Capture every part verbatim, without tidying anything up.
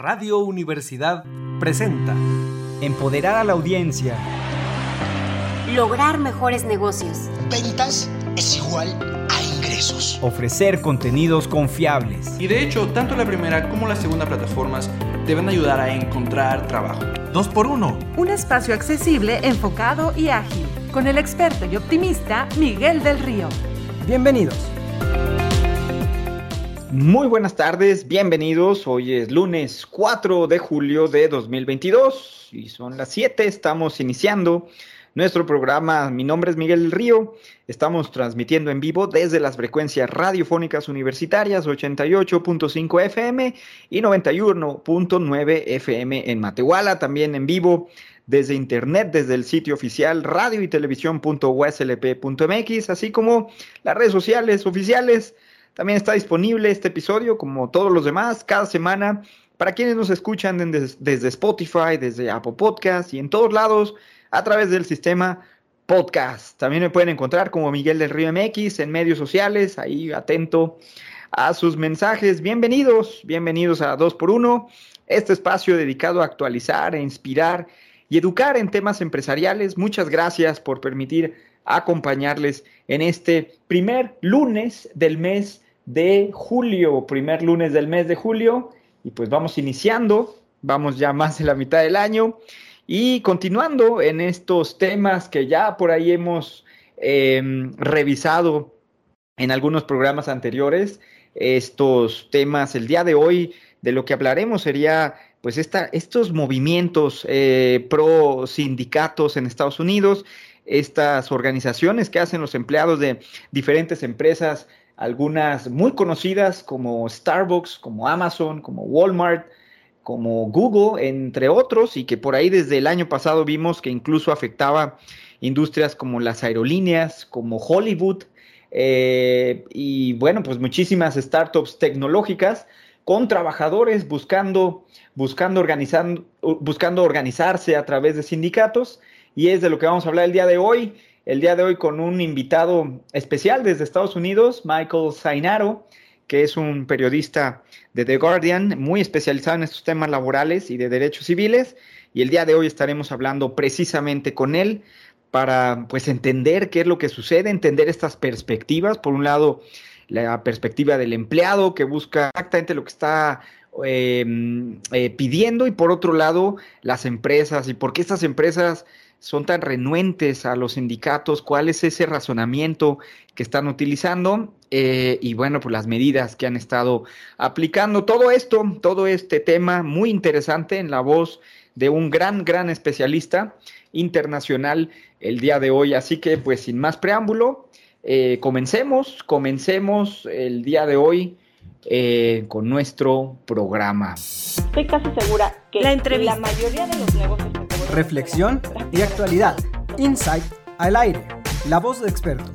Radio Universidad presenta Empoderar a la audiencia. Lograr mejores negocios. Ventas es igual a ingresos. Ofrecer contenidos confiables. Y de hecho, tanto la primera como la segunda plataformas te van a ayudar a encontrar trabajo. Dos por uno. Un espacio accesible, enfocado y ágil. Con el experto y optimista Miguel del Río. Bienvenidos. Muy buenas tardes, bienvenidos. Hoy es lunes cuatro de julio de dos mil veintidós y son las siete. Estamos iniciando nuestro programa. Mi nombre es Miguel del Río. Estamos transmitiendo en vivo desde las frecuencias radiofónicas universitarias ochenta y ocho punto cinco F M y noventa y uno punto nueve F M en Matehuala. También en vivo desde internet, desde el sitio oficial radio y televisión punto u s l p punto m x, así como las redes sociales oficiales. También está disponible este episodio, como todos los demás, cada semana, para quienes nos escuchan desde, desde Spotify, desde Apple Podcasts y en todos lados, a través del sistema podcast. También me pueden encontrar como Miguel del Río M X en medios sociales, ahí atento a sus mensajes. Bienvenidos, bienvenidos a dos por uno, este espacio dedicado a actualizar, a inspirar y educar en temas empresariales. Muchas gracias por permitir acompañarles en este primer lunes del mes de julio, primer lunes del mes de julio, y pues vamos iniciando, vamos ya más de la mitad del año, y continuando en estos temas que ya por ahí hemos eh, revisado en algunos programas anteriores. Estos temas, el día de hoy, de lo que hablaremos sería pues esta, estos movimientos eh, pro sindicatos en Estados Unidos, estas organizaciones que hacen los empleados de diferentes empresas, algunas muy conocidas como Starbucks, como Amazon, como Walmart, como Google, entre otros, y que por ahí desde el año pasado vimos que incluso afectaba industrias como las aerolíneas, como Hollywood, eh, y bueno, pues muchísimas startups tecnológicas con trabajadores buscando, buscando, organizando, buscando organizarse a través de sindicatos. Y es de lo que vamos a hablar el día de hoy, el día de hoy con un invitado especial desde Estados Unidos, Michael Zainaro, que es un periodista de The Guardian, muy especializado en estos temas laborales y de derechos civiles, y el día de hoy estaremos hablando precisamente con él para pues entender qué es lo que sucede, entender estas perspectivas. Por un lado, la perspectiva del empleado que busca exactamente lo que está eh, eh, pidiendo, y por otro lado, las empresas y por qué estas empresas son tan renuentes a los sindicatos, cuál es ese razonamiento que están utilizando, eh, y bueno, pues las medidas que han estado aplicando. Todo esto, todo este tema muy interesante en la voz de un gran, gran especialista internacional el día de hoy. Así que pues sin más preámbulo, eh, comencemos, comencemos el día de hoy eh, con nuestro programa. Estoy casi segura que La entrevista. la mayoría de los negocios que te voy a Reflexión y actualidad. Insight al aire. La voz de expertos.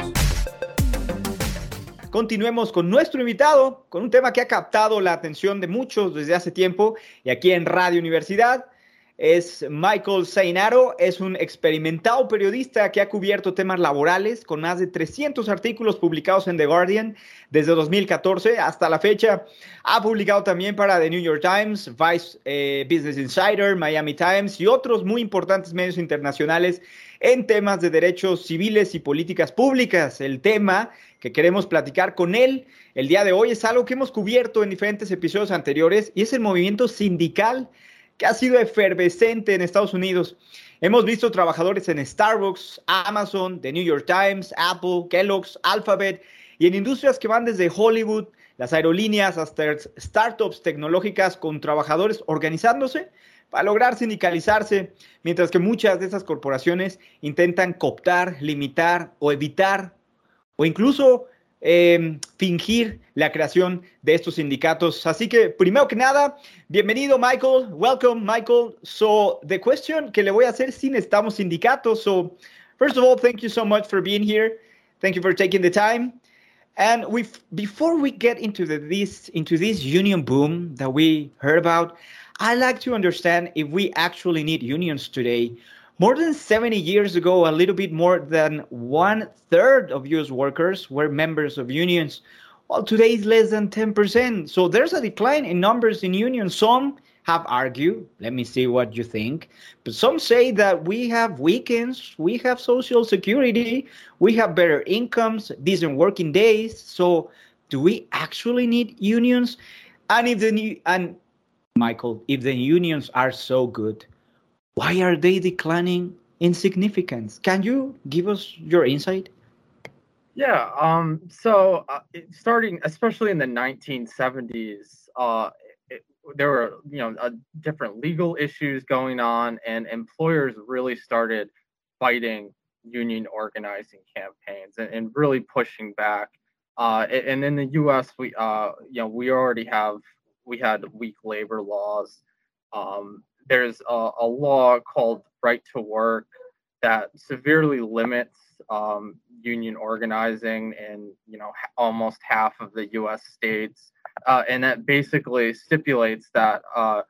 Continuemos con nuestro invitado, con un tema que ha captado la atención de muchos desde hace tiempo, y aquí en Radio Universidad. Es Michael Zainaro, es un experimentado periodista que ha cubierto temas laborales con más de trescientos artículos publicados en The Guardian desde dos mil catorce hasta la fecha. Ha publicado también para The New York Times, Vice eh, Business Insider, Miami Times y otros muy importantes medios internacionales en temas de derechos civiles y políticas públicas. El tema que queremos platicar con él el día de hoy es algo que hemos cubierto en diferentes episodios anteriores, y es el movimiento sindical que ha sido efervescente en Estados Unidos. Hemos visto trabajadores en Starbucks, Amazon, The New York Times, Apple, Kellogg's, Alphabet, y en industrias que van desde Hollywood, las aerolíneas, hasta startups tecnológicas con trabajadores organizándose para lograr sindicalizarse, mientras que muchas de esas corporaciones intentan cooptar, limitar o evitar o incluso Eh, fingir la creación de estos sindicatos. Así que, primero que nada, bienvenido, Michael. Welcome, Michael. So, the question que le voy a hacer, si necesitamos sindicatos. So, first of all, thank you so much for being here. Thank you for taking the time. And we, before we get into the, this into this union boom that we heard about, I'd like to understand if we actually need unions today. More than seventy years ago, a little bit more than one third of U S workers were members of unions. Well, today is less than ten percent. So there's a decline in numbers in unions. Some have argued. Let me see what you think. But some say that we have weekends, we have social security, we have better incomes, decent working days. So do we actually need unions? And if the new, and Michael, if the unions are so good, why are they declining in significance? Can you give us your insight? Yeah, um, so uh, it, starting, especially in the nineteen seventies, uh, it, there were, you know, uh, different legal issues going on, and employers really started fighting union organizing campaigns and, and really pushing back. Uh, and in the U S, we, uh, you know, we already have, we had weak labor laws. Um, there's a, a law called Right to Work that severely limits um, union organizing in, you know, almost half of the U S states, uh, and that basically stipulates that uh,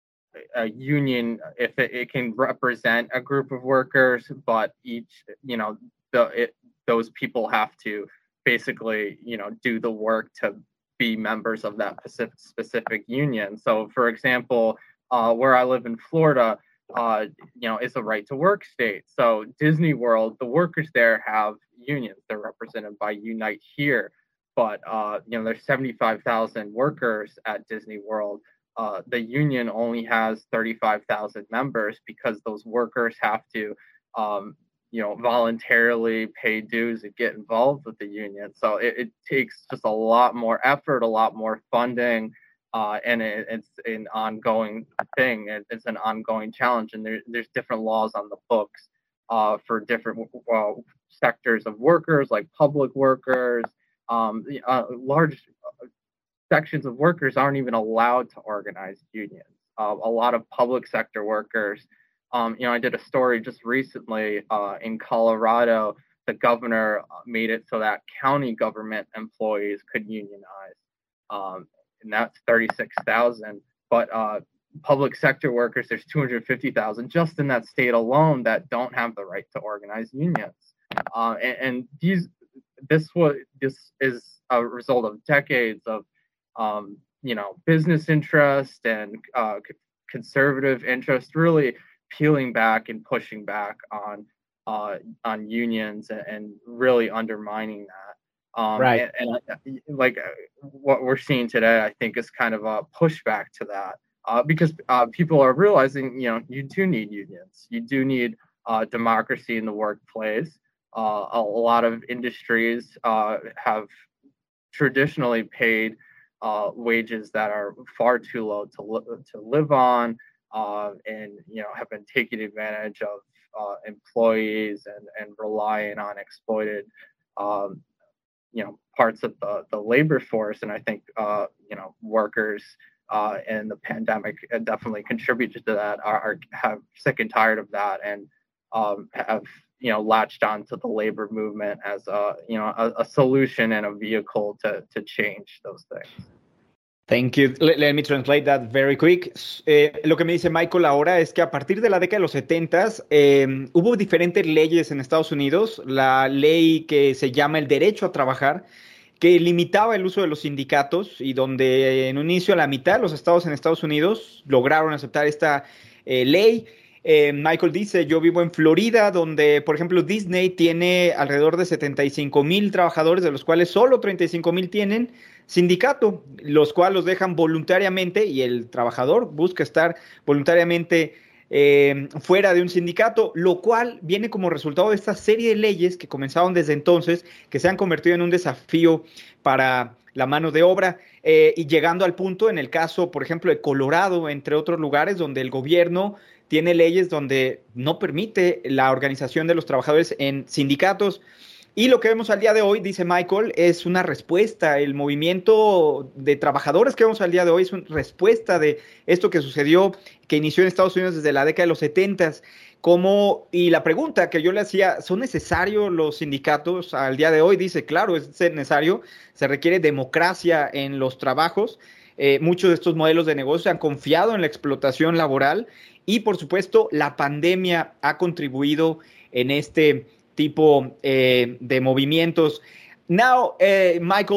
a union, if it, it can represent a group of workers, but each, you know, the it, those people have to basically, you know, do the work to be members of that specific, specific union. So, for example, uh, where I live in Florida, uh, you know, it's a right to work state. So Disney World, the workers there have unions. They're represented by Unite Here. But, uh, you know, there's seventy-five thousand workers at Disney World. Uh, the union only has thirty-five thousand members because those workers have to, um, you know, voluntarily pay dues and get involved with the union. So it, it takes just a lot more effort, a lot more funding. Uh, and it, it's an ongoing thing. It, it's an ongoing challenge, and there, there's different laws on the books uh, for different uh, sectors of workers, like public workers. Um, uh, large sections of workers aren't even allowed to organize unions. Uh, a lot of public sector workers. Um, you know, I did a story just recently uh, in Colorado. The governor made it so that county government employees could unionize. Um, and that's thirty-six thousand. But uh, public sector workers, there's two hundred fifty thousand just in that state alone that don't have the right to organize unions. Uh, and, and these, this was, this is a result of decades of, um, you know, business interest and uh, conservative interest really peeling back and pushing back on uh, on unions and, and really undermining that. Um, right. And, and like what we're seeing today, I think is kind of a pushback to that uh, because uh, people are realizing, you know, you do need unions. You do need uh, democracy in the workplace. Uh, a, a lot of industries uh, have traditionally paid uh, wages that are far too low to, li- to live on uh, and, you know, have been taking advantage of uh, employees and, and relying on exploited um, you know, parts of the, the labor force. And I think, uh, you know, workers uh, and the pandemic definitely contributed to that, are, are have sick and tired of that and um, have, you know, latched onto the labor movement as a, you know, a, a solution and a vehicle to, to change those things. Thank you. Let, let me translate that very quick. Eh, lo que me dice Michael ahora es que a partir de la década de los setentas eh, hubo diferentes leyes en Estados Unidos. La ley que se llama el derecho a trabajar, que limitaba el uso de los sindicatos y donde en un inicio la mitad de los estados en Estados Unidos lograron aceptar esta eh, ley. Eh, Michael dice, yo vivo en Florida, donde, por ejemplo, Disney tiene alrededor de setenta y cinco mil trabajadores, de los cuales solo treinta y cinco mil tienen sindicato, los cuales los dejan voluntariamente y el trabajador busca estar voluntariamente eh, fuera de un sindicato, lo cual viene como resultado de esta serie de leyes que comenzaron desde entonces, que se han convertido en un desafío para la mano de obra eh, y llegando al punto en el caso, por ejemplo, de Colorado, entre otros lugares, donde el gobierno tiene leyes donde no permite la organización de los trabajadores en sindicatos. Y lo que vemos al día de hoy, dice Michael, es una respuesta. El movimiento de trabajadores que vemos al día de hoy es una respuesta de esto que sucedió, que inició en Estados Unidos desde la década de los setentas. Como, y la pregunta que yo le hacía, ¿son necesarios los sindicatos al día de hoy? Dice, claro, es necesario. Se requiere democracia en los trabajos. Eh, muchos de estos modelos de negocio han confiado en la explotación laboral y, por supuesto, la pandemia ha contribuido en este tipo eh, de movimientos. Now, uh, Michael,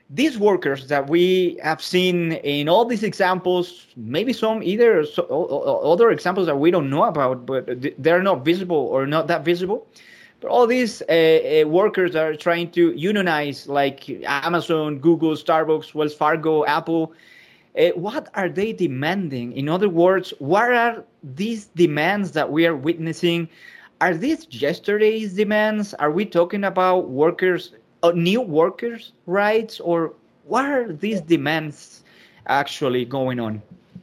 these workers that we have seen in all these examples, maybe some either so, other examples that we don't know about, but they're not visible or not that visible. But all these uh, uh, workers are trying to unionize, like Amazon, Google, Starbucks, Wells Fargo, Apple. Uh, what are they demanding? In other words, what are these demands that we are witnessing? Are these yesterday's demands? Are we talking about workers, uh, new workers' rights, or what are these demands actually going on?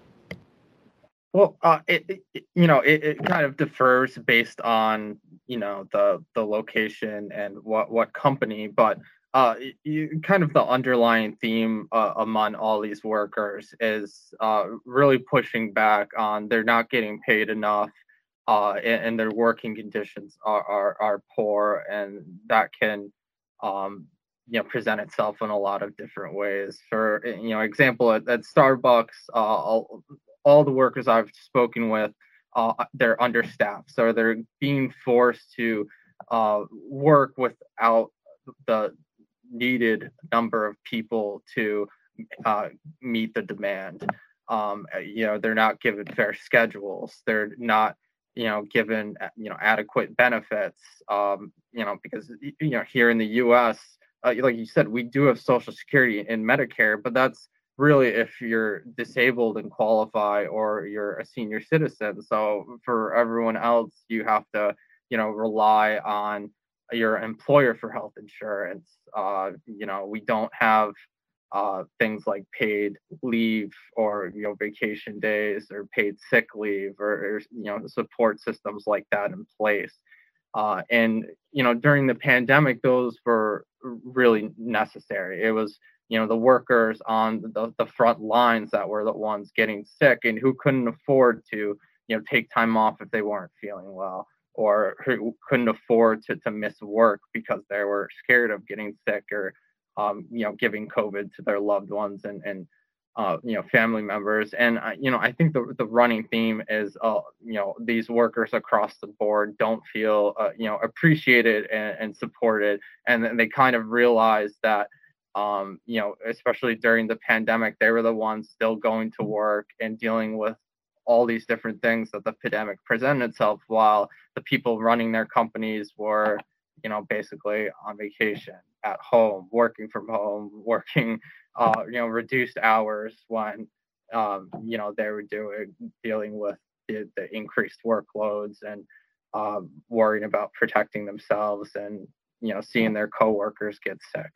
Well, uh, it, it you know it, it kind of differs based on you know the the location and what what company, but uh, you, kind of the underlying theme uh, among all these workers is uh, really pushing back on they're not getting paid enough, uh, and, and their working conditions are, are are poor, and that can um, you know present itself in a lot of different ways. For you know example, at, at Starbucks, uh, all, all the workers I've spoken with, uh, they're understaffed, so they're being forced to uh, work without the needed number of people to uh, meet the demand. Um, you know, they're not given fair schedules. They're not, you know, given you know adequate benefits. Um, you know, because you know here in the U S, uh, like you said, we do have Social Security and Medicare, but that's really if you're disabled and qualify or you're a senior citizen. So for everyone else, you have to, you know, rely on your employer for health insurance. Uh, you know, we don't have uh, things like paid leave or, you know, vacation days or paid sick leave or, or you know, support systems like that in place. Uh, and, you know, during the pandemic, those were really necessary. It was, you know, the workers on the, the front lines that were the ones getting sick and who couldn't afford to, you know, take time off if they weren't feeling well, or who couldn't afford to, to miss work because they were scared of getting sick or, um, you know, giving COVID to their loved ones and, and uh, you know, family members. And, uh, you know, I think the, the running theme is, uh, you know, these workers across the board don't feel, uh, you know, appreciated and, and supported. And then they kind of realize that, um, you know, especially during the pandemic, they were the ones still going to work and dealing with all these different things that the pandemic presented itself, while the people running their companies were, you know, basically on vacation, at home, working from home, working, uh, you know, reduced hours when, um, you know, they were doing, dealing with the, the increased workloads and um, worrying about protecting themselves and, you know, seeing their coworkers get sick.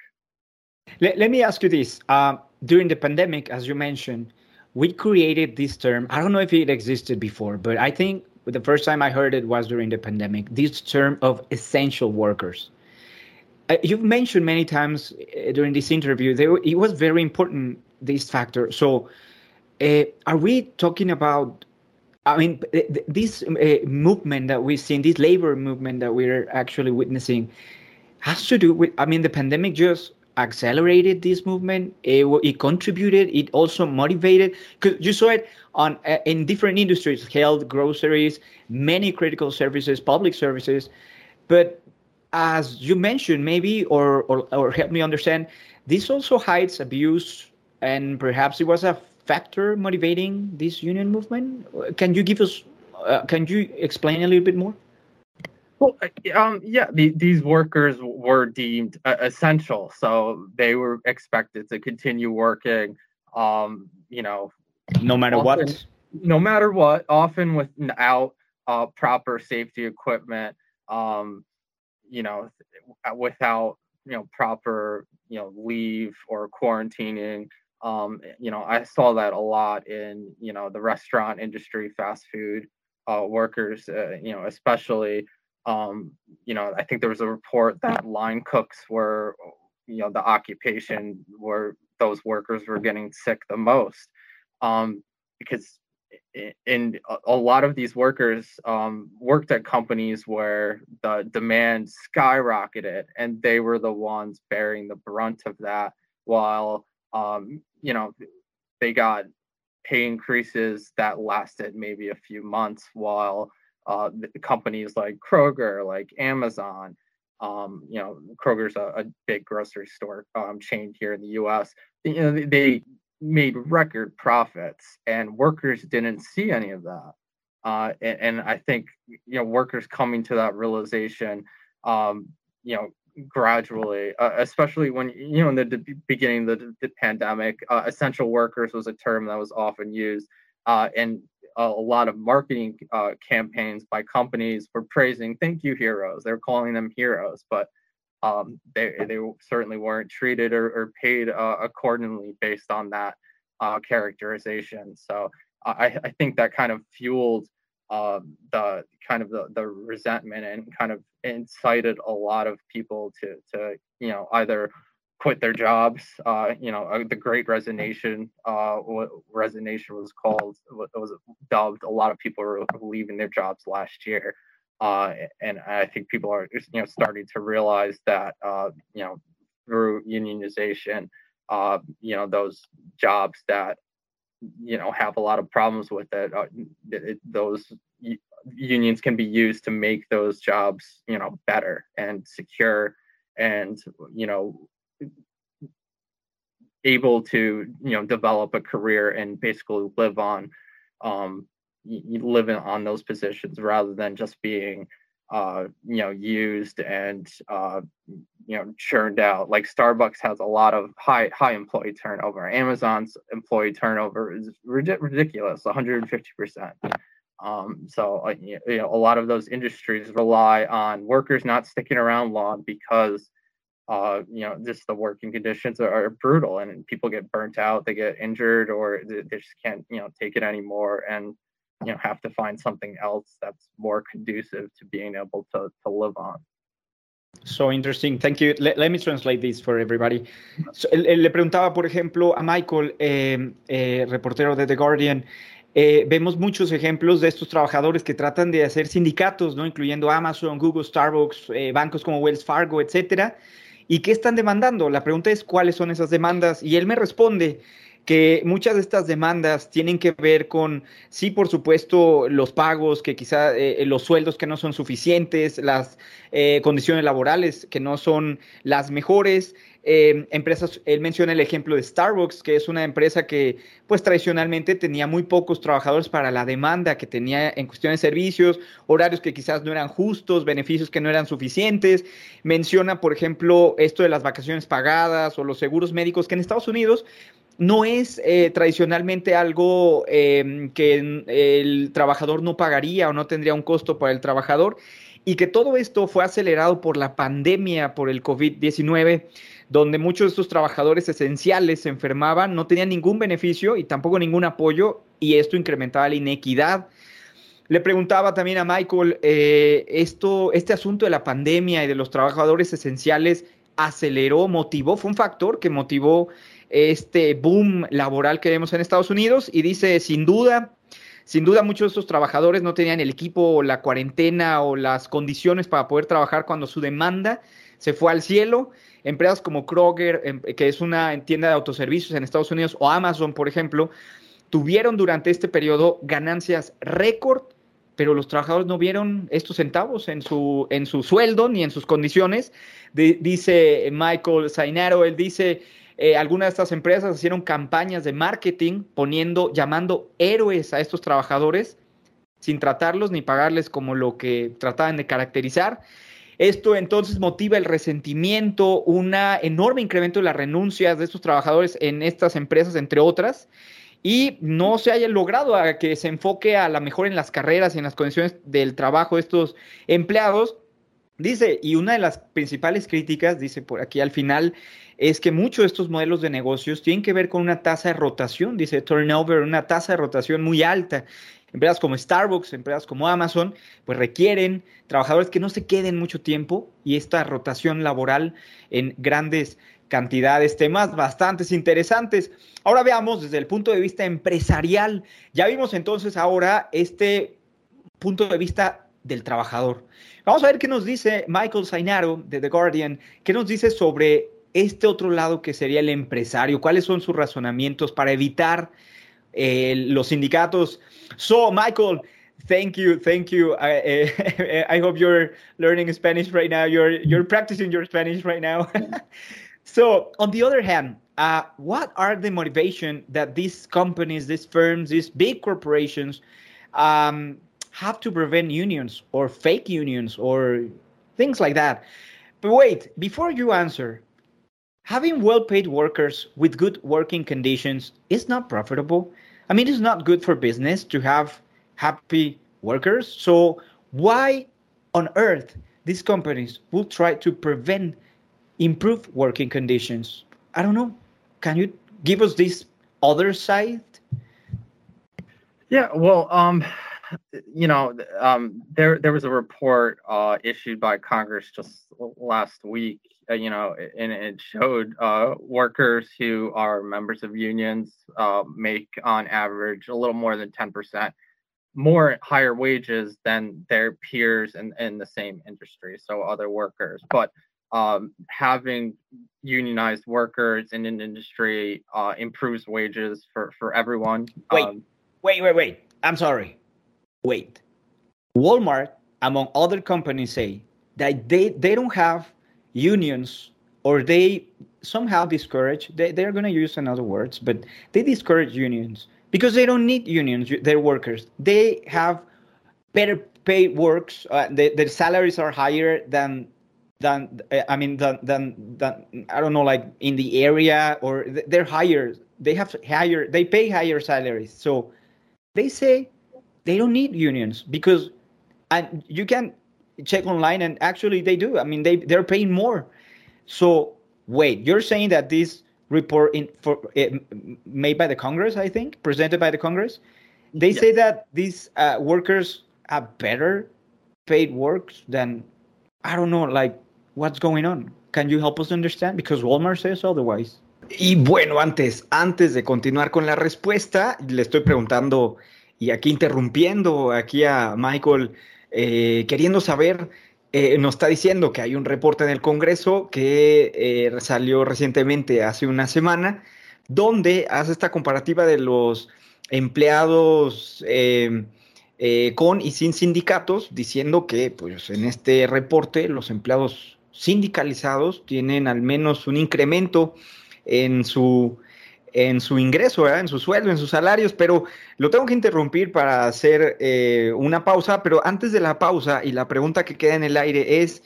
Let, let me ask you this. Uh, during the pandemic, as you mentioned, we created this term. I don't know if it existed before, but I think the first time I heard it was during the pandemic, this term of essential workers. Uh, you've mentioned many times uh, during this interview, there, it was very important, this factor. So uh, are we talking about, I mean, th- this uh, movement that we've seen, this labor movement that we're actually witnessing has to do with, I mean, the pandemic just accelerated this movement. It, it contributed. It also motivated, because you saw it on uh, in different industries, health, groceries, many critical services, public services. But as you mentioned, maybe, or, or, or help me understand, this also hides abuse, and perhaps it was a factor motivating this union movement. Can you give us, uh, can you explain a little bit more? Well, um, yeah, the, these workers were deemed uh, essential, so they were expected to continue working, um, you know, no matter often, what. No matter what, often without uh, proper safety equipment, um, you know, without, you know, proper, you know, leave or quarantining. Um, you know, I saw that a lot in, you know, the restaurant industry, fast food uh, workers, uh, you know, especially. Um, you know, I think there was a report that line cooks were, you know, the occupation where those workers were getting sick the most, um, because in a lot of these workers um, worked at companies where the demand skyrocketed, and they were the ones bearing the brunt of that, while, um, you know, they got pay increases that lasted maybe a few months, while Uh, the companies like Kroger, like Amazon, Um, you know, Kroger's a, a big grocery store um, chain here in the U S. You know, they, they made record profits, and workers didn't see any of that. Uh, and, and I think, you know, workers coming to that realization, um, you know, gradually, uh, especially when, you know, in the d- beginning of the, the pandemic, uh, essential workers was a term that was often used. Uh, and a, a lot of marketing uh, campaigns by companies were praising, thank you, heroes. They're calling them heroes, but um, they, they certainly weren't treated or, or paid uh, accordingly based on that uh, characterization. So I, I think that kind of fueled uh, the kind of the, the resentment and kind of incited a lot of people to, to you know, either quit their jobs. Uh, you know, uh, the Great Resignation, uh, what resignation was called, what was dubbed. A lot of people were leaving their jobs last year. Uh, and I think people are, you know, starting to realize that, uh, you know, through unionization, uh, you know, those jobs that, you know, have a lot of problems with it, uh, it those unions can be used to make those jobs, you know, better and secure and, you know, able to, you know, develop a career and basically live on, um, living on those positions rather than just being, uh, you know, used and, uh, you know, churned out. Like Starbucks has a lot of high, high employee turnover. Amazon's employee turnover is rid- ridiculous, one hundred fifty percent. Um, so, uh, you know, a lot of those industries rely on workers not sticking around long because, uh, you know, just the working conditions are, are brutal and people get burnt out, they get injured, or they, they just can't, you know, take it anymore. And, you know, have to find something else that's more conducive to being able to, to live on. So interesting. Thank you. Let, let me translate this for everybody. So, le, le preguntaba, por ejemplo, a Michael, eh, eh, reportero de The Guardian, eh, vemos muchos ejemplos de estos trabajadores que tratan de hacer sindicatos, ¿no? Incluyendo Amazon, Google, Starbucks, eh, bancos como Wells Fargo, etcétera. ¿Y qué están demandando? La pregunta es, ¿cuáles son esas demandas? Y él me responde que muchas de estas demandas tienen que ver con, sí, por supuesto, los pagos, que quizá eh, los sueldos que no son suficientes, las eh, condiciones laborales que no son las mejores. Eh, empresas, él menciona el ejemplo de Starbucks, que es una empresa que pues tradicionalmente tenía muy pocos trabajadores para la demanda que tenía en cuestión de servicios, horarios que quizás no eran justos, beneficios que no eran suficientes. Menciona, por ejemplo, esto de las vacaciones pagadas o los seguros médicos, que en Estados Unidos no es eh, tradicionalmente algo eh, que el trabajador no pagaría o no tendría un costo para el trabajador, y que todo esto fue acelerado por la pandemia, por el COVID diecinueve, donde muchos de estos trabajadores esenciales se enfermaban, no tenían ningún beneficio y tampoco ningún apoyo, y esto incrementaba la inequidad. Le preguntaba también a Michael, eh, esto, este asunto de la pandemia y de los trabajadores esenciales aceleró, motivó, fue un factor que motivó este boom laboral que vemos en Estados Unidos, y dice, sin duda, sin duda muchos de estos trabajadores no tenían el equipo o la cuarentena o las condiciones para poder trabajar cuando su demanda se fue al cielo. Empresas como Kroger, que es una tienda de autoservicios en Estados Unidos, o Amazon, por ejemplo, tuvieron durante este periodo ganancias récord, pero los trabajadores no vieron estos centavos en su, en su sueldo ni en sus condiciones. De, dice Michael Zainaro, él dice, eh, algunas de estas empresas hicieron campañas de marketing poniendo, llamando héroes a estos trabajadores sin tratarlos ni pagarles como lo que trataban de caracterizar. Esto entonces motiva el resentimiento, un enorme incremento de las renuncias de estos trabajadores en estas empresas, entre otras, y no se haya logrado a que se enfoque a la mejora en las carreras y en las condiciones del trabajo de estos empleados. Dice, y una de las principales críticas, dice por aquí al final, es que muchos de estos modelos de negocios tienen que ver con una tasa de rotación, dice turnover, una tasa de rotación muy alta. Empresas como Starbucks, empresas como Amazon, pues requieren trabajadores que no se queden mucho tiempo, y esta rotación laboral en grandes cantidades. Temas bastante interesantes. Ahora veamos desde el punto de vista empresarial. Ya vimos entonces ahora este punto de vista del trabajador. Vamos a ver qué nos dice Michael Zainaro de The Guardian, qué nos dice sobre este otro lado que sería el empresario, cuáles son sus razonamientos para evitar eh, los sindicatos. So, Michael, Thank you, thank you. I, uh, I hope you're learning Spanish right now. You're you're practicing your Spanish right now. So, on the other hand, uh, what are the motivation that these companies, these firms, these big corporations um, have to prevent unions or fake unions or things like that? But wait, before you answer, having well-paid workers with good working conditions is not profitable. I mean, it's not good for business to have happy workers. So why on earth these companies will try to prevent improved working conditions? I don't know. Can you give us this other side? Yeah, well, um, you know, um, there there was a report uh, issued by Congress just last week, uh, you know, and it showed uh, workers who are members of unions uh, make on average a little more than ten percent more higher wages than their peers in, in the same industry, so other workers. But um, having unionized workers in an industry uh, improves wages for, for everyone. Wait, um, wait, wait, wait. I'm sorry. Wait. Walmart, among other companies, say that they, they don't have unions, or they somehow discourage, they, they're going to use another words, but they discourage unions because they don't need unions, their workers. They have better paid works. Uh, they, their salaries are higher than, than I mean, than, than, than, I don't know, like in the area, or they're higher. They have higher, they pay higher salaries. So they say they don't need unions because, and you can check online, and actually they do. I mean, they, they're paying more. So wait, you're saying that this report in for uh, made by the Congress, I think, presented by the Congress, they yes. say that these uh, workers have better paid works than, I don't know, like, what's going on? Can you help us understand? Because Walmart says otherwise. Y bueno, antes, antes de continuar con la respuesta, le estoy preguntando y aquí interrumpiendo aquí a Michael, eh, queriendo saber, eh, nos está diciendo que hay un reporte del Congreso que eh, salió recientemente hace una semana, donde hace esta comparativa de los empleados eh, eh, con y sin sindicatos, diciendo que pues, en este reporte los empleados sindicalizados tienen al menos un incremento en su, en su ingreso, ¿verdad? En su sueldo, en sus salarios, pero lo tengo que interrumpir para hacer eh, una pausa, pero antes de la pausa y la pregunta que queda en el aire es,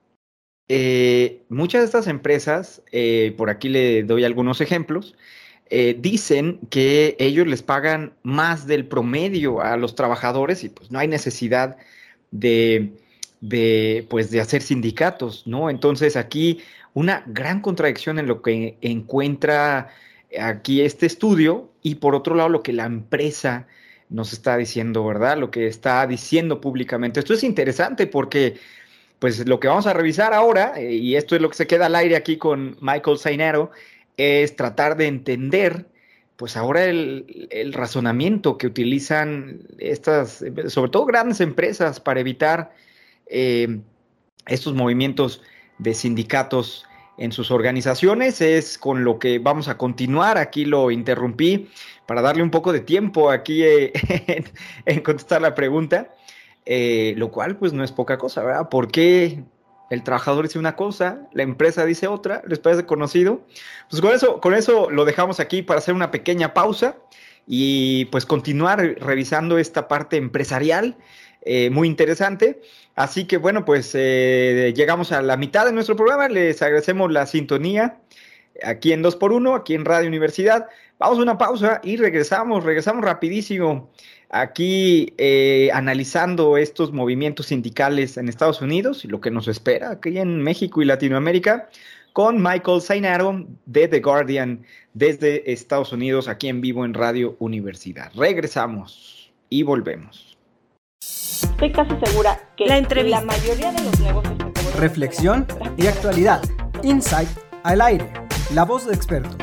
eh, muchas de estas empresas, eh, por aquí le doy algunos ejemplos, eh, dicen que ellos les pagan más del promedio a los trabajadores y pues no hay necesidad de, de, pues, de hacer sindicatos, ¿no? Entonces aquí una gran contradicción en lo que encuentra aquí este estudio y por otro lado lo que la empresa nos está diciendo, ¿verdad? Lo que está diciendo públicamente. Esto es interesante porque pues lo que vamos a revisar ahora, eh, y esto es lo que se queda al aire aquí con Michael Zainero, es tratar de entender pues ahora el, el razonamiento que utilizan estas, sobre todo grandes empresas, para evitar eh, estos movimientos de sindicatos en sus organizaciones. Es con lo que vamos a continuar. Aquí lo interrumpí para darle un poco de tiempo aquí eh, en, en contestar la pregunta, eh, lo cual pues no es poca cosa, ¿verdad? ¿Por qué el trabajador dice una cosa, la empresa dice otra? ¿Les parece conocido? Pues con eso, con eso lo dejamos aquí para hacer una pequeña pausa y pues continuar revisando esta parte empresarial eh, muy interesante. Así que bueno, pues eh, llegamos a la mitad de nuestro programa. Les agradecemos la sintonía aquí en dos por uno, aquí en Radio Universidad. Vamos a una pausa y regresamos, regresamos rapidísimo aquí eh, analizando estos movimientos sindicales en Estados Unidos y lo que nos espera aquí en México y Latinoamérica con Michael Zainero de The Guardian desde Estados Unidos, aquí en vivo en Radio Universidad. Regresamos y volvemos. Estoy casi segura que La entrevista. la mayoría de los negocios que te voy a Reflexión y actualidad. Insight al aire. La voz de expertos.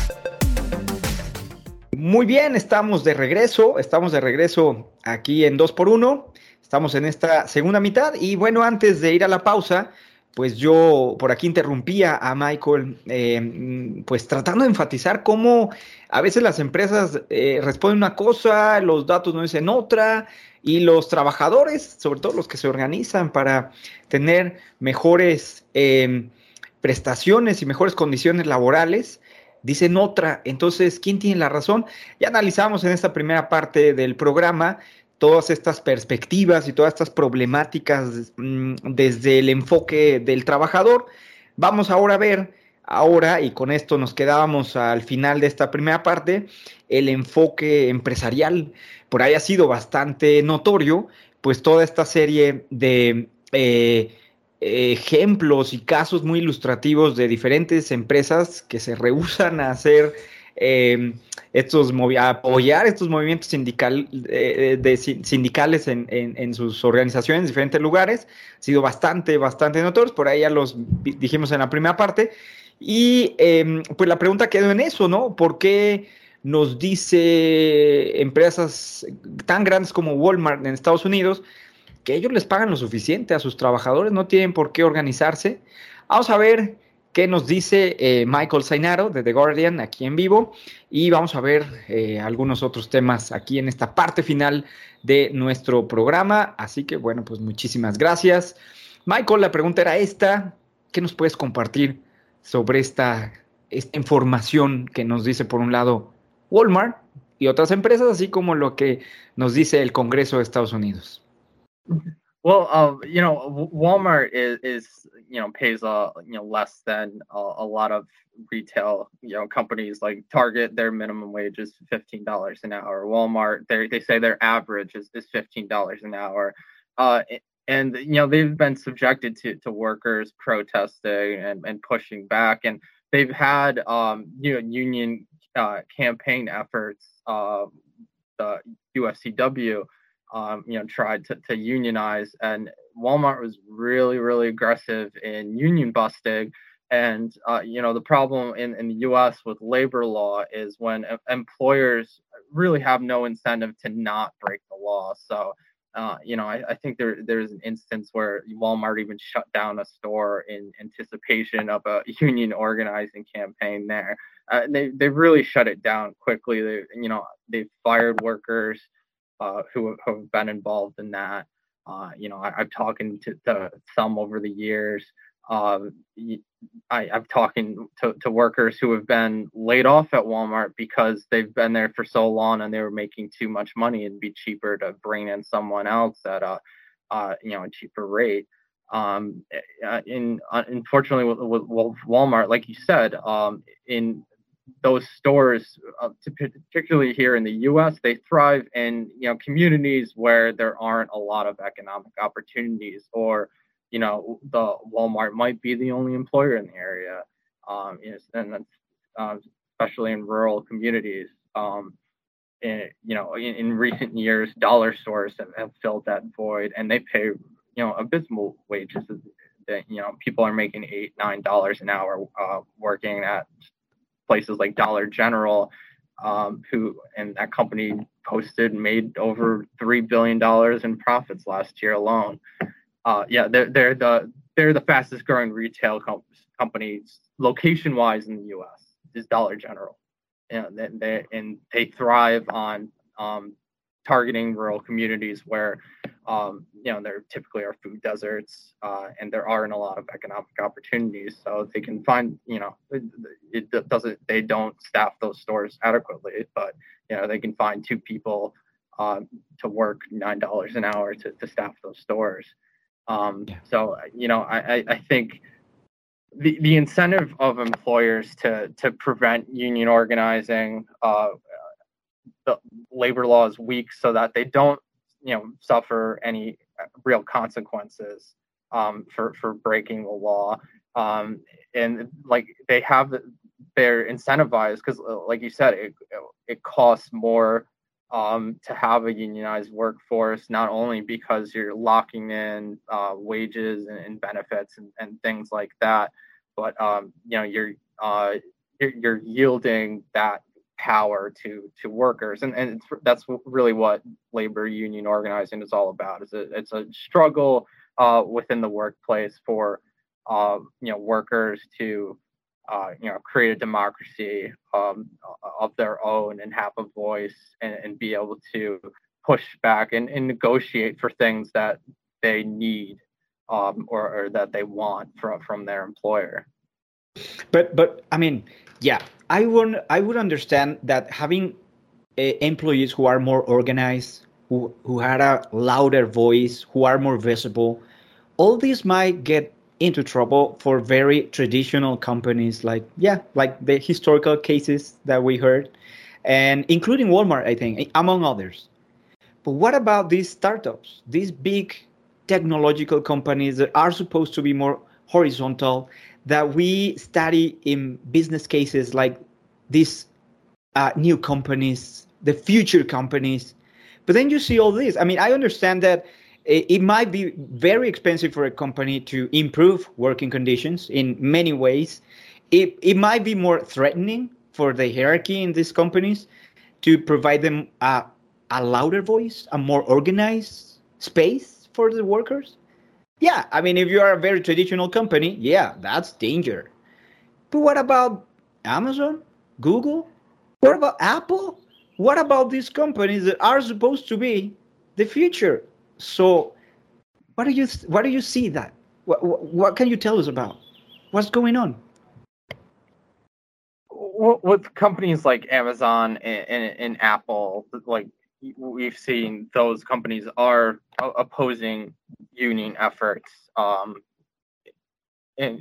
Muy bien, estamos de regreso, estamos de regreso aquí en dos por uno, estamos en esta segunda mitad y bueno, antes de ir a la pausa, pues yo por aquí interrumpía a Michael, eh, pues tratando de enfatizar cómo a veces las empresas eh, responden una cosa, los datos no dicen otra, y los trabajadores, sobre todo los que se organizan para tener mejores eh, prestaciones y mejores condiciones laborales, dicen otra. Entonces, ¿quién tiene la razón? Ya analizamos en esta primera parte del programa todas estas perspectivas y todas estas problemáticas mmm, desde el enfoque del trabajador. Vamos ahora a ver, ahora, y con esto nos quedábamos al final de esta primera parte, el enfoque empresarial. Por ahí ha sido bastante notorio, pues toda esta serie de eh, ejemplos y casos muy ilustrativos de diferentes empresas que se rehúsan a hacer eh, estos a apoyar estos movimientos sindical, eh, de, sindicales en, en, en sus organizaciones en diferentes lugares. Ha sido bastante, bastante notorios. Por ahí ya los dijimos en la primera parte. Y eh, pues la pregunta quedó en eso, ¿no? ¿Por qué nos dice empresas tan grandes como Walmart en Estados Unidos que ellos les pagan lo suficiente a sus trabajadores, no tienen por qué organizarse? Vamos a ver qué nos dice eh, Michael Zainaro de The Guardian aquí en vivo, y vamos a ver eh, algunos otros temas aquí en esta parte final de nuestro programa. Así que bueno, pues muchísimas gracias. Michael, la pregunta era esta: ¿qué nos puedes compartir sobre esta, esta información que nos dice por un lado Walmart y otras empresas, así como lo que nos dice el Congreso de Estados Unidos? Well, uh, you know, Walmart is, is you know, pays uh, you know, less than a, a lot of retail, you know, companies like Target. Their minimum wage is fifteen dollars an hour. Walmart, they they say their average is, is fifteen dollars an hour. Uh, and you know, they've been subjected to to workers protesting and, and pushing back, and they've had um, you know, union uh, campaign efforts. Uh, the U F C W. Um, you know, tried to, to unionize, and Walmart was really, really aggressive in union busting. And, uh, you know, the problem in, in the U S with labor law is when employers really have no incentive to not break the law. So, uh, you know, I, I think there there's an instance where Walmart even shut down a store in anticipation of a union organizing campaign there. Uh, they, they really shut it down quickly. They, you know, they've fired workers Uh, who, have, who have been involved in that. Uh, you know, I, I've talked to, to some over the years. Uh, I, I've talked to, to workers who have been laid off at Walmart because they've been there for so long and they were making too much money. It'd be cheaper to bring in someone else at a, uh, you know, a cheaper rate. Um, in uh, unfortunately, with, with, with Walmart, like you said, um, in those stores, uh, particularly here in the U S, they thrive in, you know, communities where there aren't a lot of economic opportunities, or, you know, the Walmart might be the only employer in the area, um, and that's uh, especially in rural communities. Um, and, you know, in, in recent years, dollar stores have, have filled that void, and they pay, you know, abysmal wages. That, you know, people are making eight, nine dollars an hour uh, working at places like Dollar General, um, who and that company posted made over three billion dollars in profits last year alone. Uh, yeah, they're they're the they're the fastest growing retail com- companies location wise in the U S is Dollar General. You know, they, they and they thrive on um, targeting rural communities where um, you know, there typically are food deserts, uh, and there aren't a lot of economic opportunities. So they can find, you know, it, it doesn't, they don't staff those stores adequately, but, you know, they can find two people um, to work nine dollars an hour to, to staff those stores. Um, yeah. So, you know, I, I think the, the incentive of employers to, to prevent union organizing, uh, the labor law is weak so that they don't, you know, suffer any real consequences um, for, for breaking the law. Um, and like they have, they're incentivized because like you said, it, it costs more um, to have a unionized workforce, not only because you're locking in uh, wages and, and benefits and, and things like that, but, um, you know, you're, uh, you're, you're yielding that power to to workers, and and it's, that's really what labor union organizing is all about. It's a it's a struggle uh, within the workplace for uh, you know, workers to, uh, you know, create a democracy um, of their own and have a voice and, and be able to push back and, and negotiate for things that they need um, or, or that they want from, from their employer. But but I mean, yeah, I would I would understand that having uh, employees who are more organized, who who had a louder voice, who are more visible, all these might get into trouble for very traditional companies, like yeah, like the historical cases that we heard, and including Walmart, I think, among others. But what about these startups, these big technological companies that are supposed to be more horizontal, that we study in business cases like these uh, new companies, the future companies? But then you see all this. I mean, I understand that it, it might be very expensive for a company to improve working conditions in many ways. It, it might be more threatening for the hierarchy in these companies to provide them a, a louder voice, a more organized space for the workers. Yeah, I mean, if you are a very traditional company, yeah, that's danger. But what about Amazon, Google? What about Apple? What about these companies that are supposed to be the future? So, what do you what do you see that? What what, what can you tell us about? What's going on? With companies like Amazon and, and, and Apple, like we've seen, those companies are opposing union efforts, um, and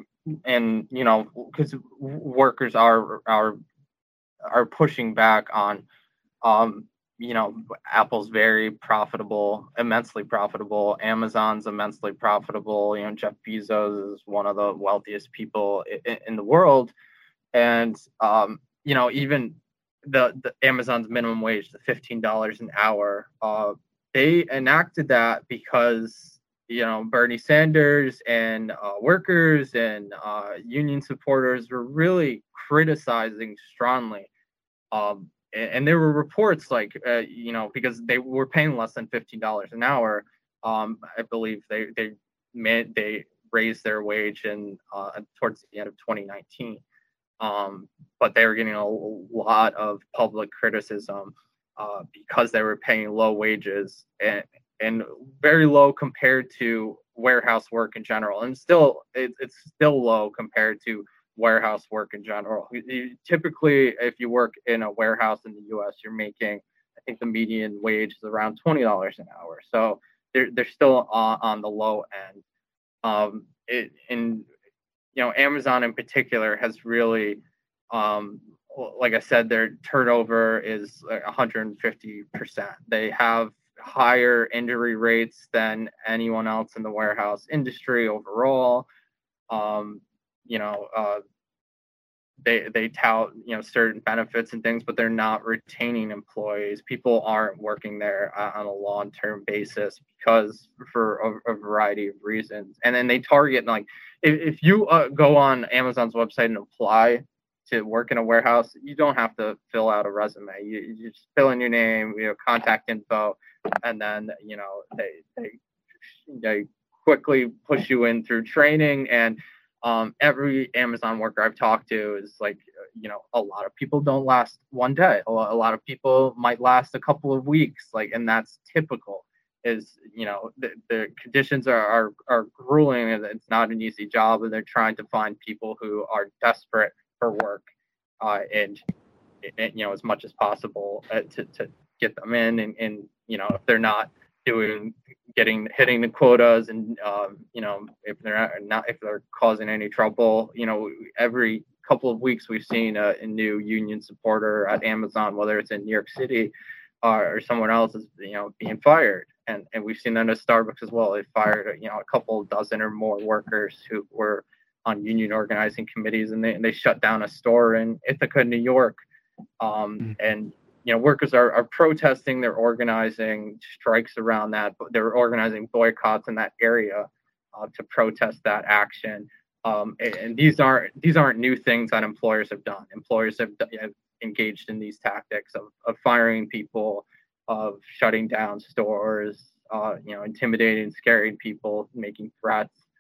and you know, because workers are are are pushing back on, um, you know, Apple's very profitable, immensely profitable. Amazon's immensely profitable. You know, Jeff Bezos is one of the wealthiest people in, in the world, and um, you know, even the, the Amazon's minimum wage, the fifteen dollars an hour, uh, they enacted that because, you know, Bernie Sanders and uh, workers and uh, union supporters were really criticizing strongly. Um, and, and there were reports like, uh, you know, because they were paying less than fifteen dollars an hour. Um, I believe they they made, they raised their wage in uh, towards the end of twenty nineteen. Um, but they were getting a lot of public criticism uh, because they were paying low wages and and very low compared to warehouse work in general. And still, it, it's still low compared to warehouse work in general. You, you, typically, if you work in a warehouse in the U S, you're making, I think the median wage is around twenty dollars an hour. So they're, they're still on, on the low end. Um, it, and you know, Amazon in particular has really, um, like I said, their turnover is like one hundred fifty percent. They have higher injury rates than anyone else in the warehouse industry overall. Um, you know, uh, they they tout, you know, certain benefits and things, but they're not retaining employees. People aren't working there uh, on a long-term basis because for a, a variety of reasons. And then they target, like, if, if you uh, go on Amazon's website and apply to work in a warehouse, you don't have to fill out a resume. You, you just fill in your name, you know, contact info, and then, you know, they they they quickly push you in through training. And um, every Amazon worker I've talked to is like, you know, a lot of people don't last one day. A lot of people might last a couple of weeks, like, and that's typical. Is, you know, the, the conditions are, are are grueling, and it's not an easy job, and they're trying to find people who are desperate for work, uh, and, and you know, as much as possible uh, to to get them in, and, and you know, if they're not doing getting hitting the quotas, and um, you know, if they're not if they're causing any trouble, you know, every couple of weeks we've seen a, a new union supporter at Amazon, whether it's in New York City uh, or somewhere else, is, you know, being fired. And, and we've seen that at Starbucks as well. They fired, you know, a couple dozen or more workers who were on union organizing committees, and they, and they shut down a store in Ithaca, New York. Um, mm-hmm. And, you know, workers are, are protesting, they're organizing strikes around that, but they're organizing boycotts in that area uh, to protest that action. Um, and, and these aren't these aren't new things that employers have done. Employers have, have engaged in these tactics of, of firing people, of shutting down stores, uh, you know, intimidating, scaring people, making threats.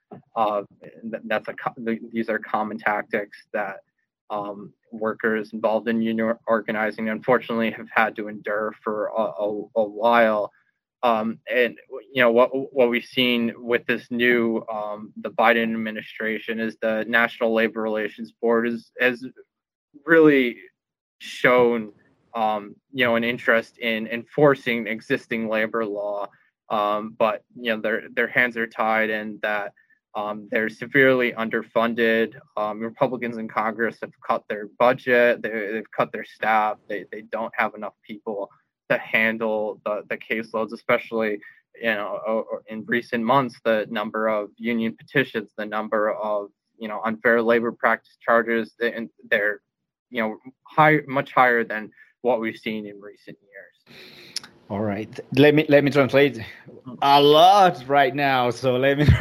Uh, that's a these are common tactics that um, workers involved in union organizing, unfortunately, have had to endure for a, a, a while. Um, and you know what what we've seen with this new um, the Biden administration is the National Labor Relations Board is has really shown um, you know an interest in enforcing existing labor law, um, but you know their their hands are tied, and that um, they're severely underfunded. Um, Republicans in Congress have cut their budget, they, they've cut their staff. They they don't have enough people to handle the, the caseloads, especially, you know, in recent months, the number of union petitions, the number of, you know, unfair labor practice charges, and they're, you know, high, much higher than what we've seen in recent years. All right. Let me let me translate a lot right now. So let me.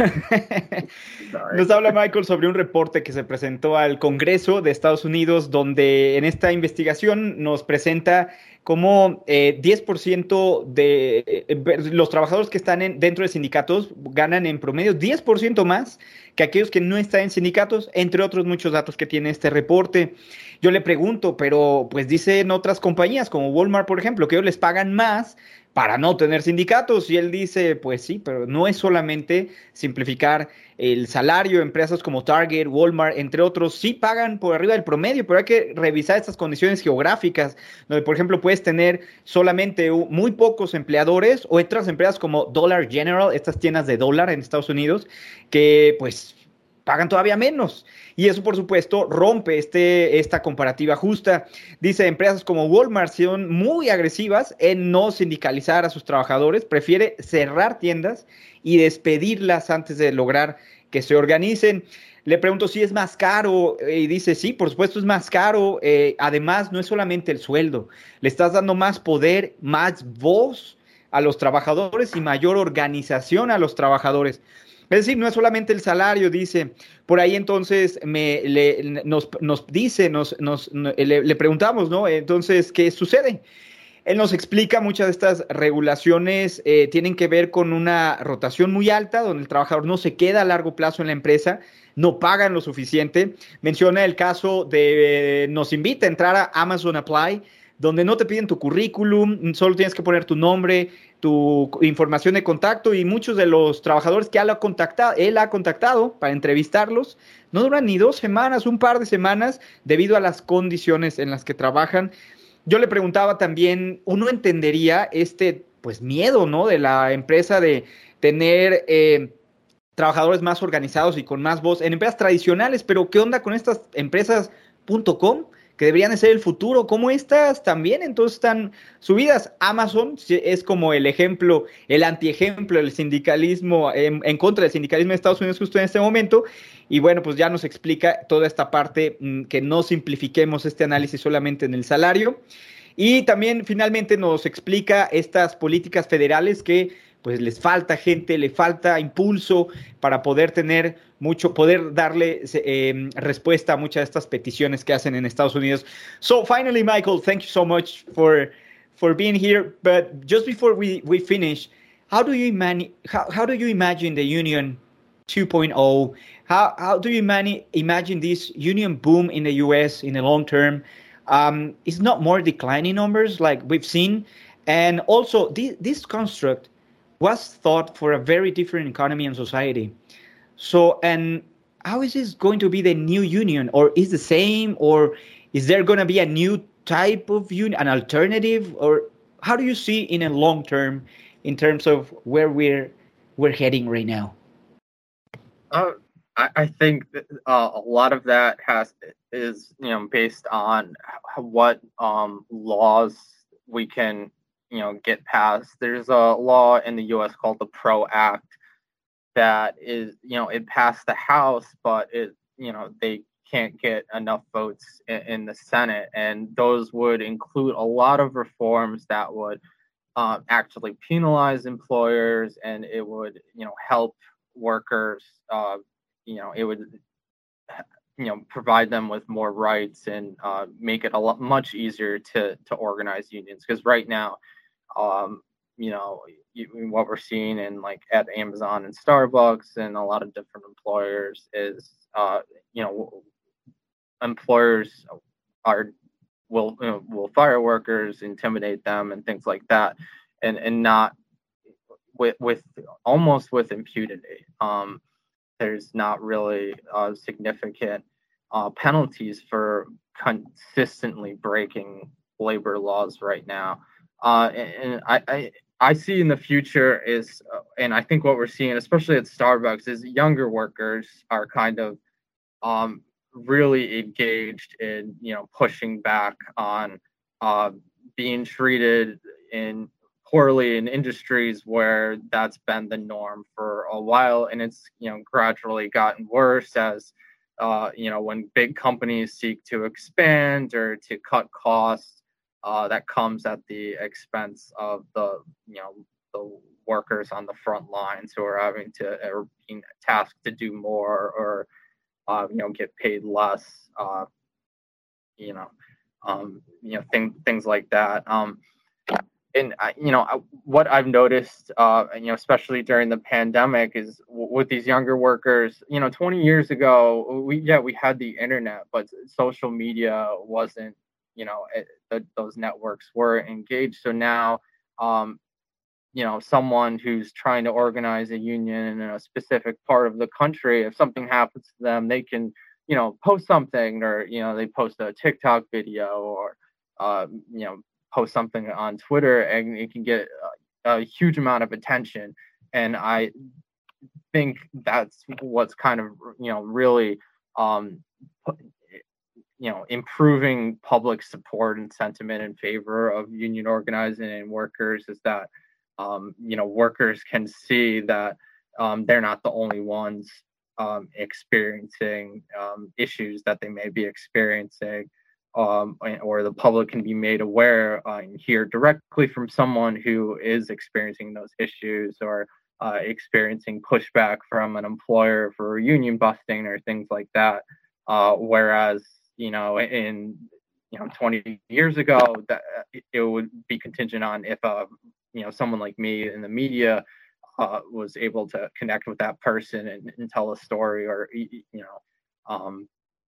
Nos habla Michael sobre un reporte que se presentó al Congreso de Estados Unidos, donde en esta investigación nos presenta cómo eh, diez por ciento de eh, los trabajadores que están en, dentro de sindicatos ganan en promedio diez por ciento más que aquellos que no están en sindicatos, entre otros muchos datos que tiene este reporte. Yo le pregunto, pero pues dicen otras compañías como Walmart, por ejemplo, que ellos les pagan más para no tener sindicatos, y él dice, pues sí, pero no es solamente simplificar el salario. Empresas como Target, Walmart, entre otros, sí pagan por arriba del promedio, pero hay que revisar estas condiciones geográficas, donde, por ejemplo, puedes tener solamente muy pocos empleadores, o otras empresas como Dollar General, estas tiendas de dólar en Estados Unidos, que pues pagan todavía menos. Y eso, por supuesto, rompe este, esta comparativa justa. Dice, empresas como Walmart son muy agresivas en no sindicalizar a sus trabajadores, prefiere cerrar tiendas y despedirlas antes de lograr que se organicen. Le pregunto si es más caro, y dice, sí, por supuesto es más caro. Eh, además, no es solamente el sueldo, le estás dando más poder, más voz a los trabajadores y mayor organización a los trabajadores. Es decir, no es solamente el salario, dice. Por ahí entonces me, le, nos, nos dice, nos, nos, le, le preguntamos, ¿no? Entonces, ¿qué sucede? Él nos explica muchas de estas regulaciones eh, tienen que ver con una rotación muy alta, donde el trabajador no se queda a largo plazo en la empresa, no pagan lo suficiente. Menciona el caso de, eh, nos invita a entrar a Amazon Apply, donde no te piden tu currículum, solo tienes que poner tu nombre, tu información de contacto, y muchos de los trabajadores que él ha contactado, él ha contactado para entrevistarlos no duran ni dos semanas, un par de semanas, debido a las condiciones en las que trabajan. Yo le preguntaba también, uno entendería este pues miedo, ¿no?, de la empresa de tener eh, trabajadores más organizados y con más voz en empresas tradicionales, pero ¿qué onda con estas empresas .com? Que deberían de ser el futuro, como estas también entonces están subidas. Amazon es como el ejemplo, el antiejemplo del sindicalismo, en, en contra del sindicalismo de Estados Unidos justo en este momento. Y bueno, pues ya nos explica toda esta parte, mmm, que no simplifiquemos este análisis solamente en el salario. Y también finalmente nos explica estas políticas federales que pues les falta gente, le falta impulso para poder tener mucho, poder darle eh, respuesta a muchas de estas peticiones que hacen en Estados Unidos. So finally, Michael, thank you so much for for being here. But just before we, we finish, how do you imagine how, how do you imagine the union two point oh? How how do you mani- imagine this union boom in the U S in the long term? Um, it's not more declining numbers like we've seen, and also this, this construct was thought for a very different economy and society. So, and how is this going to be the new union, or is the same, or is there going to be a new type of union, an alternative, or how do you see in a long term in terms of where we're we're heading right now? Uh, I, I think that, uh, a lot of that has is you know based on what um, laws we can you know get passed. There's a law in the U S called the PRO Act that is you know it passed the House, but it you know they can't get enough votes in, in the Senate, and those would include a lot of reforms that would um, actually penalize employers, and it would you know help workers. Uh, you know it would you know provide them with more rights, and uh, make it a lot much easier to to organize unions, because right now Um, you know, what we're seeing in like at Amazon and Starbucks and a lot of different employers is, uh, you know, employers are will you know, will fire workers, intimidate them, and things like that, and and not with with almost with impunity. Um, there's not really uh, significant uh, penalties for consistently breaking labor laws right now. Uh, and, and I, I I see in the future is, uh, and I think what we're seeing, especially at Starbucks, is younger workers are kind of um, really engaged in, you know, pushing back on uh, being treated in poorly in industries where that's been the norm for a while, and it's, you know, gradually gotten worse as, uh, you know, when big companies seek to expand or to cut costs. Uh, that comes at the expense of the, you know, the workers on the front lines who are having to, or being tasked to do more, or, uh, you know, get paid less, uh, you know, um, you know, things, things like that. Um, and, I, you know, I, what I've noticed, uh, you know, especially during the pandemic is w- with these younger workers, you know, twenty years ago, we, yeah, we had the internet, but social media wasn't, you know, it, the, those networks were engaged. So now, um, you know, someone who's trying to organize a union in a specific part of the country, if something happens to them, they can, you know, post something, or, you know, they post a TikTok video, or, uh, you know, post something on Twitter, and it can get a, a huge amount of attention. And I think that's what's kind of, you know, really, um, you know, improving public support and sentiment in favor of union organizing and workers, is that, um, you know, workers can see that um, they're not the only ones um, experiencing um, issues that they may be experiencing, um, or the public can be made aware uh, and hear directly from someone who is experiencing those issues, or uh, experiencing pushback from an employer for union busting or things like that. Uh, whereas, you know, in, you know, twenty years ago, that it would be contingent on if, uh, you know, someone like me in the media uh, was able to connect with that person and, and tell a story, or, you know, um,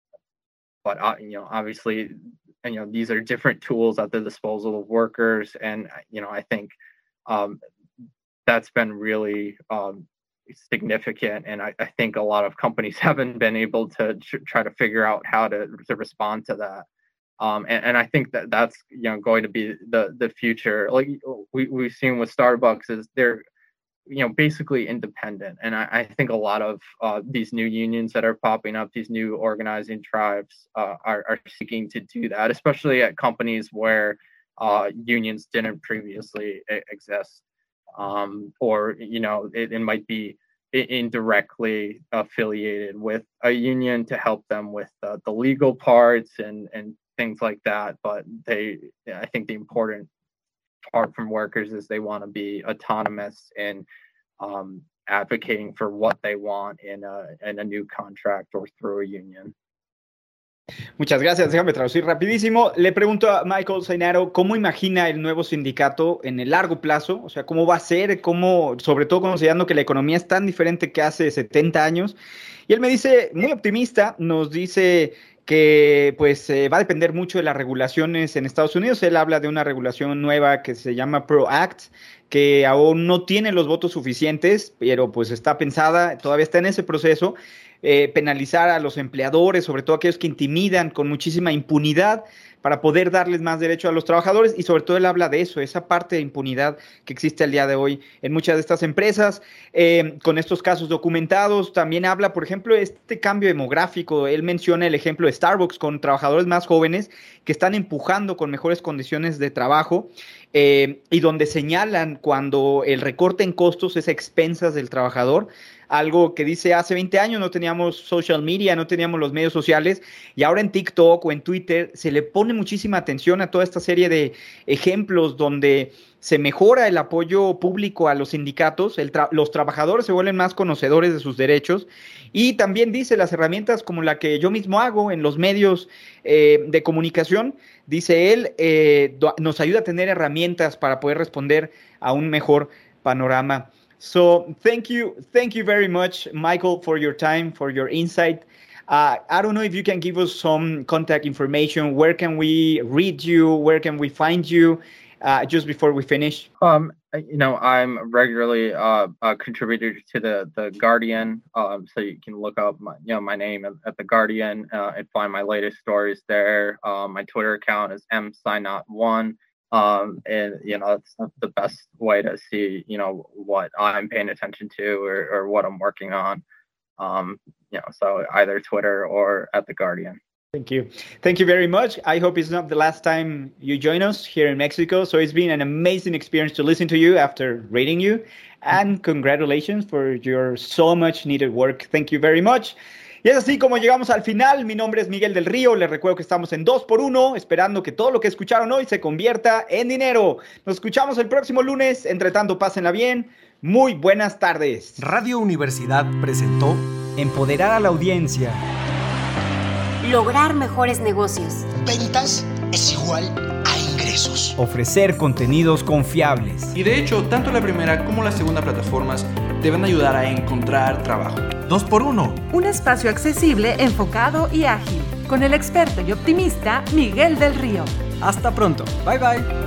but, uh, you know, obviously, and, you know, these are different tools at the disposal of workers. And, you know, I think um, that's been really um, significant, and I, I think a lot of companies haven't been able to tr- try to figure out how to, to respond to that. Um, and, and I think that that's, you know, going to be the the future. Like we, we've seen with Starbucks, is they're, you know, basically independent. And I, I think a lot of uh, these new unions that are popping up, these new organizing tribes uh, are, are seeking to do that, especially at companies where uh, unions didn't previously exist. Um, or, you know, it, it might be indirectly affiliated with a union to help them with uh, the legal parts and, and things like that. But they, I think the important part from workers is they want to be autonomous in um, advocating for what they want in a, in a new contract or through a union. Muchas gracias. Déjame traducir rapidísimo. Le pregunto a Michael Zainaro cómo imagina el nuevo sindicato en el largo plazo, o sea, cómo va a ser, cómo, sobre todo considerando que la economía es tan diferente que hace setenta años. Y él me dice, muy optimista, nos dice que pues eh, va a depender mucho de las regulaciones en Estados Unidos. Él habla de una regulación nueva que se llama PRO Act, que aún no tiene los votos suficientes, pero pues está pensada, todavía está en ese proceso. Eh, penalizar a los empleadores, sobre todo aquellos que intimidan con muchísima impunidad, para poder darles más derecho a los trabajadores. Y sobre todo él habla de eso, esa parte de impunidad que existe al día de hoy en muchas de estas empresas, eh, con estos casos documentados. También habla, por ejemplo, de este cambio demográfico. Él menciona el ejemplo de Starbucks con trabajadores más jóvenes que están empujando con mejores condiciones de trabajo, eh, y donde señalan cuando el recorte en costos es a expensas del trabajador. Algo que dice hace veinte años no teníamos social media, no teníamos los medios sociales, y ahora en TikTok o en Twitter se le pone muchísima atención a toda esta serie de ejemplos donde se mejora el apoyo público a los sindicatos, el tra- los trabajadores se vuelven más conocedores de sus derechos y también dice las herramientas como la que yo mismo hago en los medios eh, de comunicación, dice él, eh, do- nos ayuda a tener herramientas para poder responder a un mejor panorama. So thank you, thank you very much, Michael, for your time, for your insight. Uh, I don't know if you can give us some contact information. Where can we read you? Where can we find you? Uh, just before we finish. Um, you know, I'm regularly uh, a contributor to the the Guardian, um, so you can look up my, you know, my name at, at the Guardian uh, and find my latest stories there. Um, my Twitter account is m synot one, um, and you know, it's the best way to see, you know, what I'm paying attention to or, or what I'm working on. Um, you know, so either Twitter or at the Guardian. Thank you. Thank you very much. I hope it's not the last time you join us here in Mexico. So it's been an amazing experience to listen to you after reading you. And congratulations for your so much needed work. Thank you very much. Y es así como llegamos al final. Mi nombre es Miguel del Río. Les recuerdo que estamos en dos por uno, esperando que todo lo que escucharon hoy se convierta en dinero. Nos escuchamos el próximo lunes. Entre tanto, pásenla bien. Muy buenas tardes. Radio Universidad presentó Empoderar a la audiencia. Lograr mejores negocios. Ventas es igual a ingresos. Ofrecer contenidos confiables. Y de hecho, tanto la primera como la segunda plataformas te van a ayudar a encontrar trabajo. dos por uno. Un espacio accesible, enfocado y ágil. Con el experto y optimista Miguel del Río. Hasta pronto. Bye bye.